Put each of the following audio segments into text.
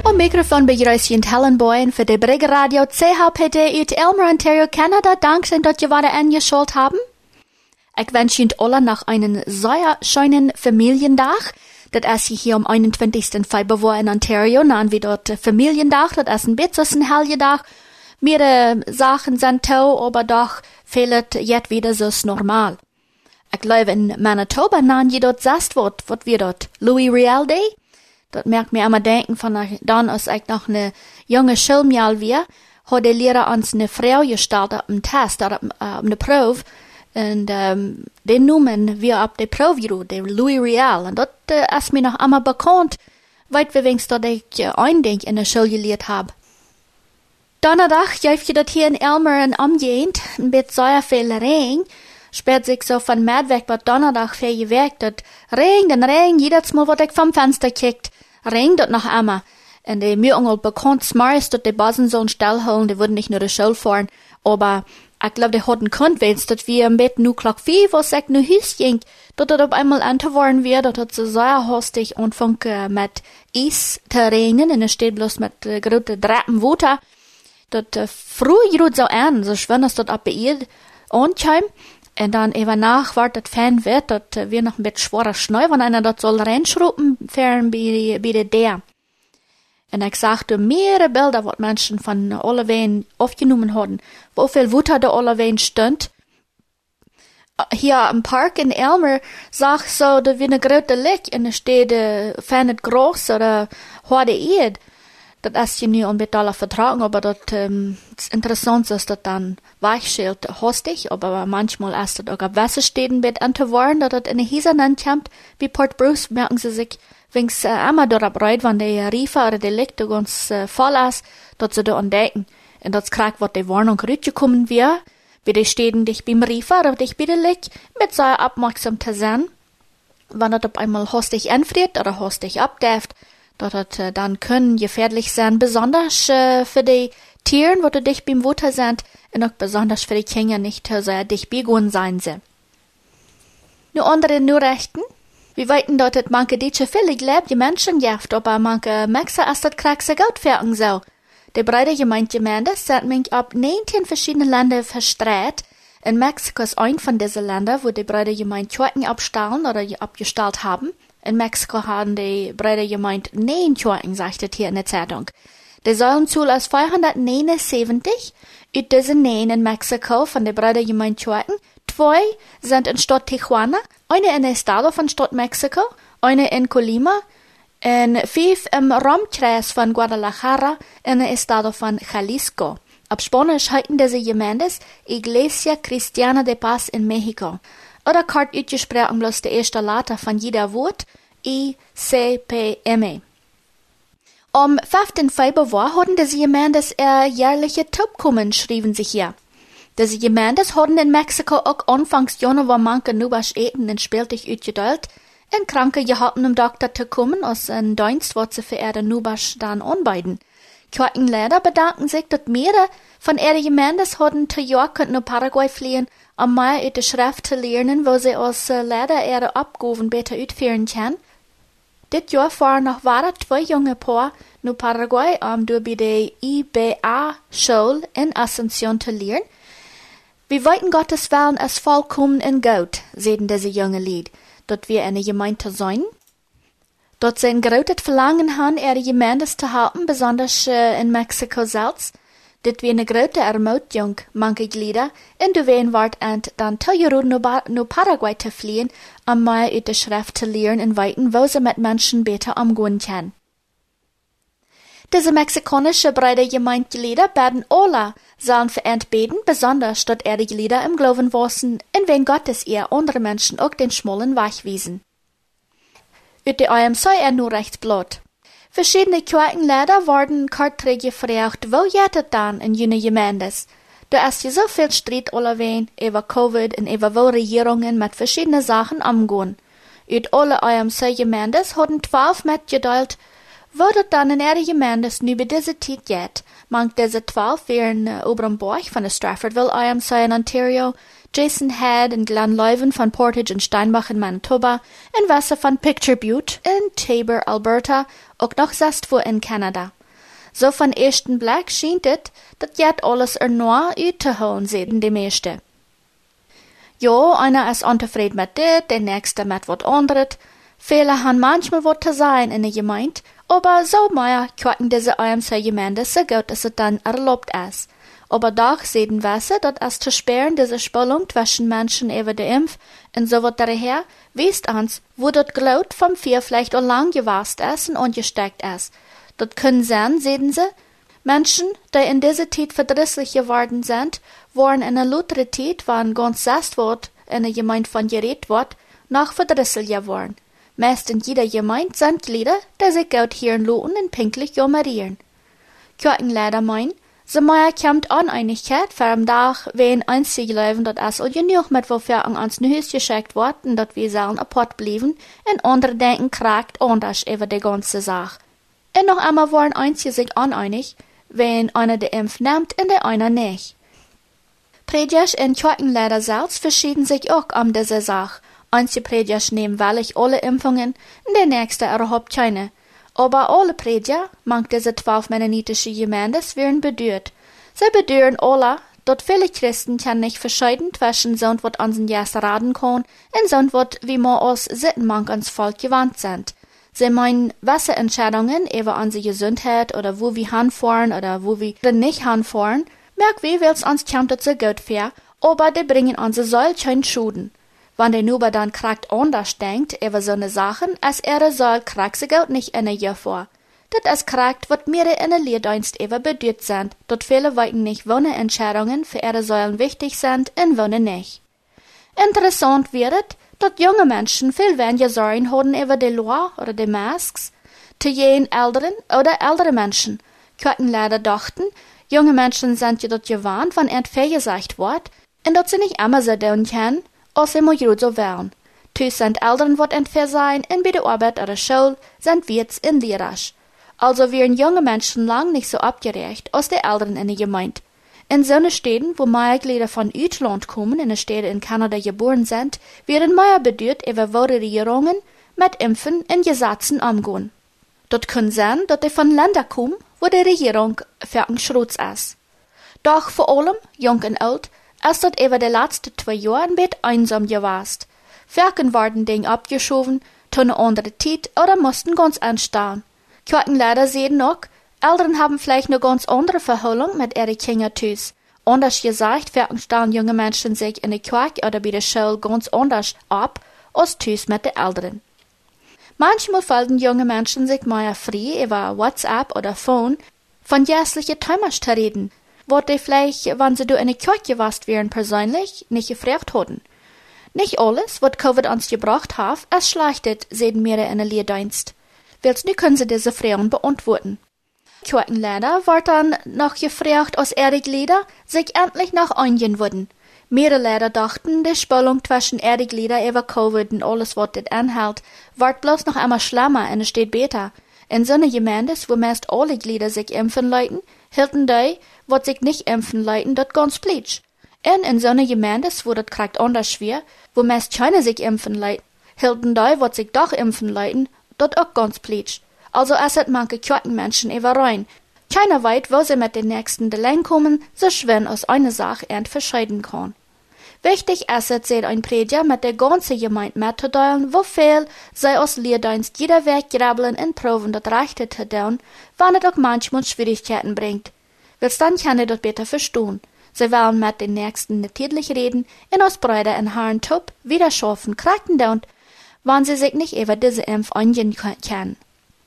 Om microfoon bij Joyce Hellenboyen voor de Brigge Radio CHPD uit Elmer, Ontario, Canada. Dank dat je wieder eingeschaltet haben. Ich wünsche Ihnen alle noch einen sehr schönen Familientag. Das ist hier am 21. Februar in Ontario. Dann wie dort Familientag, das ist ein bisschen ein Helgetag. Mehrere Sachen sind toll, aber doch fehlt jetzt wieder so normal. Ich glaube in Manitoba, dann je dort sagt wird wir dort Louis Riel Day. Das merkt mir immer denken von dann, als ich noch eine junge Schulmjahr war, hat der Lehrer uns eine Frau gestellt auf dem Test, auf eine Probe. Und den Namen wir auf der Probe, der Louis Riel. Und das ist mir noch einmal bekannt, weit wir wenigstens, dass ich ein in der Schule gelehrt habe. Donnerdag, ich das hier in Elmer und umgehend, mit sehr viel Regen, spät sich so von Mädweg bei Donnerdag viel geweckt, dat Regen, jedes Mal, wo ich vom Fenster kickt, regnet das noch einmal. Und die Mühungel bekannt smarst, dass die Basen sollen stillholen, die würden nicht nur die Schule fahren, aber ich glaube, die hatten gekannt, dass wir im Bett nur Glock 5, was ich nur Hüs ging, dass das auf einmal anzuwaren wird, dass das so sehr hastig anfängt mit Eis zu regnen, und es steht bloß mit großen Drappen Wasser. Das früh geht so an, so schön, dass das ab bei ihr ankommt. Und dann eben nach, war das Fan wird, dass wir noch ein bisschen schwerer Schnee, wenn einer das soll reinschrauben, fern bei der. Und ich sagte, mehrere Bilder, was Menschen von alle Wehen aufgenommen haben, wo viel Wutter da alle Wehen stund. Hier im Park in Elmer, sag so, da wie eine große Licht, und da steht, fern groß, oder harte Erd. Das ist ja nicht unbedingt vertragen, aber das interessant ist, dass dann weichschält hostig, aber manchmal ist das auch auf Wasserstädten mit anzuwarnen, dass das in den Häusern ankommt, wie Port Bruce, merken sie sich, wenn es einmal dort abreit, wenn der Riefer oder der Licht ganz voll ist, dass sie da entdecken. Und das kriegt, was die Warnung rübergekommen wird, wie die Städten dich beim Riefer oder dich bei der Licht, mit so aufmerksam zu sein, wenn das auf einmal hostig anfriert oder hostig abdäft, dass das dann können gefährlich sein, besonders für die Tieren, wo du dich beim Wasser sind, und auch besonders für die Kinder nicht so dich begonnen sein sie. Nur andere Nachrichten. Wir weiten dort, dass manche Deutsche viele gläubige Menschen gibt, aber manche Mexer ist das kraxe Geld fertig so. Die breite Gemeinde sind mich ab 19 verschiedene Länder verstreut. In Mexiko ist ein von diesen Ländern, wo die breite Gemeinde Kirchen abstellen oder abgestellt haben. In Mexiko haben die breite Gemeinde 9 Kirchen, sagt es hier in der Zeitung. Die Säulenzahl ist 479. Uit diesen 9 in Mexiko von der breite Gemeinde Kirchen, 2 sind in Stadt Tijuana, eine in Estado von Stadt Mexiko, eine in Colima, und 5 im Raumkreis von Guadalajara in der Estado von Jalisco. Auf Spanisch heißen diese Gemeindes Iglesia Cristiana de Paz in Mexico. Oder kort uitgesprochen bloß die erste Letter von jeder Wort, ICPM. Am 5. Februar hatten diese Gemeindes jährliche Tubkommen, schrieben sich hier. Diese Gemeindes hatten in Mexiko auch anfangs Januar manche Nubasch eten und spieltig uitgedeelt, en Kranke gehalten um Doktor zu kommen, aus ein Dienst, was sie für ihre Nubasch dann anbieten. Kirchenlehrer bedanken sich, dass mehrere von ihren Gemeindes hatten zu York und nach Paraguay fliehen, um mehr uit der Schrift zu lernen, wo sie als Lehrer ihre Abgaben besser ausführen können. Dit Jahr fahren noch waren 2 junge Paar nach Paraguay, durch bei der IBA-Schule in Asunción zu lernen. Wir wollten Gottes Willen als vollkommen in Gott, sagten diese junge Lied, dort wir eine Gemeinde sein. Dort sie ein großes Verlangen haben, ihre Gemeindes zu halten, besonders in Mexiko selbst. Dit wie eine große Ermutigung, manche Glieder, in der Wehen wart und dann Toyoro nach Paraguay zu fliehen, um mehr uit der Schrift zu lernen und weiten, wo sie mit Menschen besser umgehen können. Diese mexikanische breite Gemeindeglieder werden alle sollen verehrt beten, besonders dort ihre Glieder im Glauben wachsen, in wen Gottes ihr andere Menschen auch den schmalen Weg wiesen. Uit der IMC nur recht blöd. Verschiedene Kirchenlehrer wurden kortrig gefragt, wo jettet dann in jene Gemeindes? Da ist ja so viel Streit allewein über Covid und über wo Regierungen mit verschiedenen Sachen umgehen. Uit alle IMC-Gemeindes hatten 12 mitgeteilt, wo das dann in ihre Gemeindes über diese Zeit geht. Manch diese 12 wären Obernborg von der Straffordville IMC in Ontario, Jason Head in Glenleuven von Portage und Steinbach in Manitoba, in Wasser von Picture Butte in Taber, Alberta, auch noch Zestwo in Kanada. So von ersten Blick scheint het, dat jet alles nur uit te holen, sehen die meeste. Jo, einer ist untevreden mit dit, der nächste mit wat anderes. Viele haben manchmal wat zu sein in der Gemeinde, aber so mehr kwacken diese IMC Gemeinde so gut, dass es dann erlaubt ist. Aber doch sehen wir, dass es zu sperren diese Spannung zwischen Menschen über die Impf und so wat daher, wisst uns, wo das Glut vom Vier vielleicht auch lang gewast ist und angesteckt ist. Das können sein, sehen sie, Menschen, die in dieser Zeit verdrisslich geworden sind, waren in der lutere Zeit, wann ganz sest wird, in der Gemeinde von geredet wird, noch verdrisselig geworden. Meist in jeder Gemeinde sind Glieder, die sich gut hier loten und pinklich jummerieren. Kirchenleider meinen, so mehr kommt Uneinigkeit für am Tag, wenn einzig leben, dat es auch genug mit wofür an uns Haus geschickt wird und dat wir sollen apart blieben, und andere denken kragt anders über die ganze Sache. Und noch einmal waren einzig sich uneinig, wenn einer die Impf nimmt und der einer nicht. Prediger und Kirchenleider selbst verschieden sich auch diese Sache. Einige Prediger nehmen wahrlich alle Impfungen und der nächste überhaupt keine. Aber alle Prediger, manch diese 12 mennonitische Gemeindes, werden bedürt. Sie bedüren alle, dass viele Christen kann nicht verschieden zwischen so wat unseren Jas raten kann und so wat wie wir aus Sittenmank ans Volk gewandt sind. Sie meinen, welche Entscheidungen über unsere Gesundheit oder wo wir hinfahren oder wo wir nicht hinfahren, merk wie will's uns kommt so gut für, aber die bringen uns solchen Schuden. Wenn der Nuber dann kragt anders denkt über so ne Sachen, als soll kragt sie gut nicht in Jahr vor. Das ist kragt, wat mir in der Lehrdienst über bedeutet sind, dort viele weiten nicht, wo ne Entscheidungen für sollen wichtig sind und wo ne nicht. Interessant wird, dass junge Menschen viel weniger Sorgen haben über die Loi oder die Masks, zu jenen älteren oder ältere Menschen. Könnten leider dachten, junge Menschen sind ja dort gewarnt, wenn etwas gesagt wird, und dass sie nicht immer so tun können, als sie mal gut so wären. Tus sind Eltern, wat etwas sein, und bei der Arbeit oder Schule sind Wirts in Lehrers. Also wären junge Menschen lang nicht so abgerecht als die Eltern in der Gemeinde. In so Städten, wo mehr Glieder von Utland kommen, in den Städten in Kanada geboren sind, werden mehr bedeutet über wo die Regierungen mit Impfen und Gesetzen umgehen. Dort kann sein, dass die von Ländern kommen, wo die Regierung für ein Schrutz ist. Doch vor allem, jung und alt, ist dort über die letzten 2 Jahre ein bisschen einsam gewesen. Viele werden Dinge abgeschoben, tun eine andere Zeit oder mussten ganz anstehen. Kirchenleider sehen auch, Eltern haben vielleicht eine ganz andere Verholung mit ihren Kindern tus. Anders gesagt, stellen junge Menschen sich in der Kirche oder bei der Schule ganz anders ab, als tus mit den Eltern. Manchmal fallen junge Menschen sich mehr frei über WhatsApp oder Phone von jährlichen Themen zu reden, wo die vielleicht, wenn sie in der Kirche warst wären persönlich, nicht gefragt hatten. Nicht alles, was Covid uns gebracht hat, ist schlechtet, sehen wir in der Lehrdienst. Willst nu können sie diese Fragen beantworten. Kirchenleider wird dann noch gefragt, als ihre Glieder sich endlich noch einigen würden. Mehrere Leider dachten, die Spannung zwischen ihren Glieder über Covid und alles, was das anhält, wird bloß noch einmal schlimmer und es steht besser. In so einer Gemeinde, wo meist alle Glieder sich impfen leiten, hielten die, was sich nicht impfen leiten, das ganz plitsch. Und in so einer Gemeinde, wo das kriegt anders schwer, wo meist keine sich impfen leiten, hielten die, was sich doch impfen leiten, das auch ganz plitsch. Also es hat manche Kirchenmenschen überrein. Keiner weiß, wo sie mit den nächsten Delein kommen, so schwer aus einer Sache verschieden kann. Wichtig ist es, sieht ein Prediger mit der ganzen Gemeinde mitzuteilen, wo viel sie aus Lehrdienst jeder Weg grabbeln und proben, das Rechte zu tun, wenn es auch manchmal Schwierigkeiten bringt. Willst dann kann ich das besser verstehen. Sie wollen mit den Nächsten natürlich reden und aus Brüder und Herren Tup wieder schaffen, kraken down, wenn sie sich nicht über diese Impf eingehen können.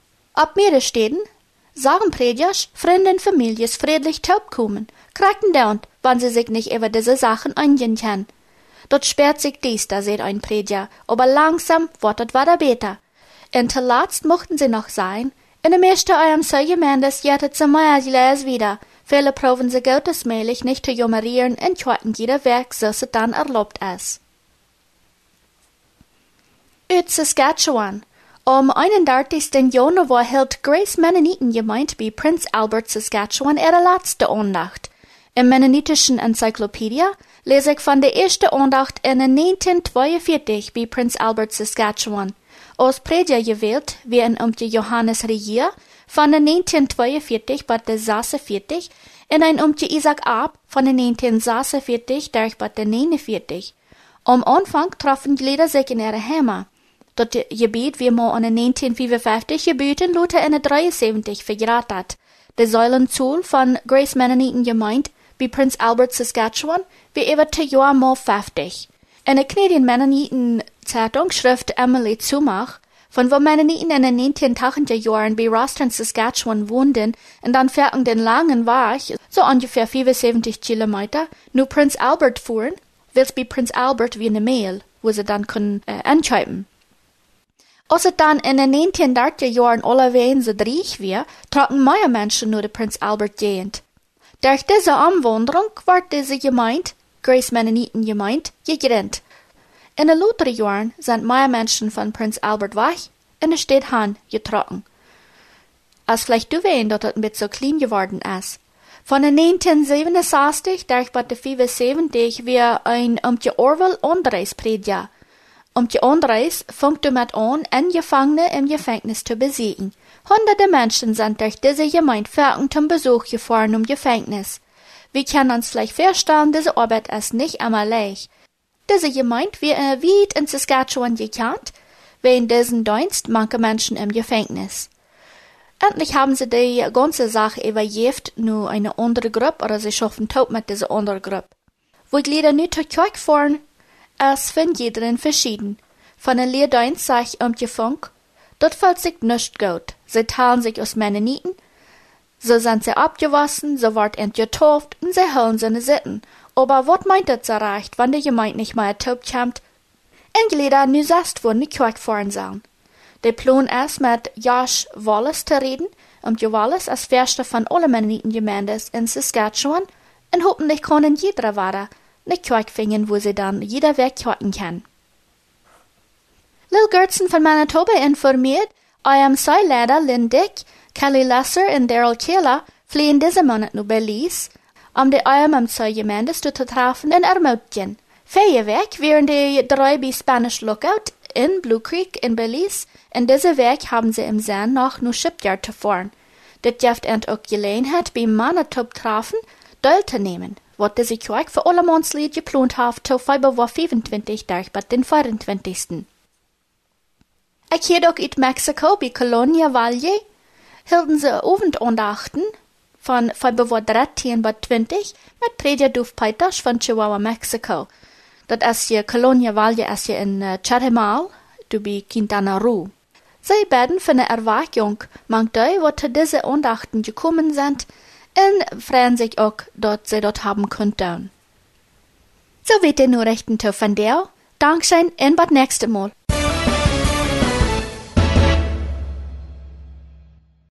Ab mehrere Städten sagen Prediger, Freunde und Familien friedlich taub kommen, kraken down, wenn sie sich nicht über diese Sachen eingehen können. Dort sperrt sich dies, da seht ein Prediger, aber langsam wird es wieder besser. Und zuletzt mochten sie noch sein, in der meisten IMC-Gemeindes jettet sie mehr als wieder. Viele proben sie gottesmäßig nicht zu jummerieren und quarten jeder Werk, so es dann erlaubt ist. Uit Saskatchewan. Am 31. Januar hielt Grace Mennonitengemeinde bei Prince Albert, Saskatchewan, ihre letzte Andacht. Im mennonitischen Enzyklopädie lese ich von der ersten Andacht in 1942 bei Prince Albert, Saskatchewan. als Prediger gewählt, wie in die Johannes Regier, von den 1942 bis 46, en een die Isaac Ab, von den 1946 bis 49. Am Anfang trafen die Lieder sich in ihre Heimat. Dat gebied wie man in 1955 gebieden Luther in 73 vergraat had. De Säulenzool van Grace Mennoniten Gemeinde bij Prince Albert, Saskatchewan, wie über 2 Jahre mal 50. In der Canadian Mennoniten Zeitung schrift Emily Zumach, von wo Mennoniten in den 1980er Jahren bei Roston, Saskatchewan wohnten und dann fertig den langen Weg, so ungefähr 75 Kilometer, nur Prince Albert fuhren, wils bei Prince Albert wie eine Mail, wo sie dann können anschreiben. Als het dan in de 1930 Jahren allerweil so dreig weer, trokken meer Menschen nur de Prince Albert Gegend. Durch diese Anwanderung werd diese Gemeinde, Grace Mennoniten Gemeinde, gegründet. In de latere Jahren sind mehr Menschen von Prince Albert weg in de Stadt Han getrokken. Als vielleicht du weißt, dass es ein bisschen so klein geworden ist. Von den 1967 durch bis 75 wir ein die Orwell Anreisprediger. Die Anreis fängt damit an, Gefangene im Gefängnis zu besiegen. Hunderte Menschen sind durch diese Gemeinde fertig zum Besuch gefahren Gefängnis. Wir können uns vielleicht vorstellen, diese Arbeit ist nicht immer leicht. Diese Gemeinde wird weit in Saskatchewan gekannt, wegen diesen Dienst manche Menschen im Gefängnis. Endlich haben sie die ganze Sache übergeben, nur eine andere Gruppe, oder sie schaffen tot mit dieser anderen Gruppe. Wo die Lieder nicht zur Kirche fahren, ist für jeden verschieden. Von den Lehrdienst sag ich die Funk, dort fällt sich nicht gut. Sie teilen sich aus Mennoniten, so sind sie abgewaschen, so wird getauft und sie holen seine Sitten. Aber was meint das so recht, wenn die Gemeinde nicht mehr ertauft kommt? In Lieder nu selbst wo die Kirche fahren sollen. Der Plan ist, mit Josh Wallace zu reden, die Wallace ist Förster von allen Mennoniten-Gemeinden in Saskatchewan, und hoffentlich können jeder weiter eine Kirche finden, wo sie dann jeder Weg kirchen kann. Lil Gertsen von Manitoba informiert, eurem Leiter Lynn Dick, Kelly Lesser und Daryl Kehler fliehen diesen Monat nach Belize, die eurem Gemeinde zu treffen in Ermutjen. Feierweg wären die 3 bei Spanish Lookout in Blue Creek in Belize, und diesen Weg haben sie im Sinn noch nur Shipyard zu fahren. Das gibt auch Gelegenheit, beim Manitoba treffen, teilzunehmen, was diese Kirche für alle Mondslied geplant hat, zu Februar 25 durch bis den 24. Ich hier auch in Mexiko bei Colonia Valle hielten sie Abendandachten von Februar 13 bis 20 mit Prediger Duf Peters von Chihuahua, Mexiko. Das ist hier Colonia Valle ist hier in Chetumal, du bei Quintana Roo. Sie beten für eine Erweckung, manche, wo zu diese Andachten gekommen sind, und freuen sich auch, dass sie dort haben könnten. So wird die Nachrichten von dir. Dankeschön und bis nächstes Mal.